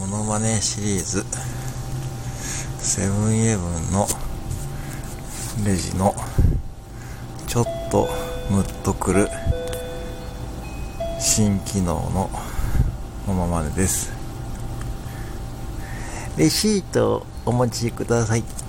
モノマネシリーズ、セブンイレブンのレジのちょっとムッとくる新機能のモノマネです。レシートお持ちください。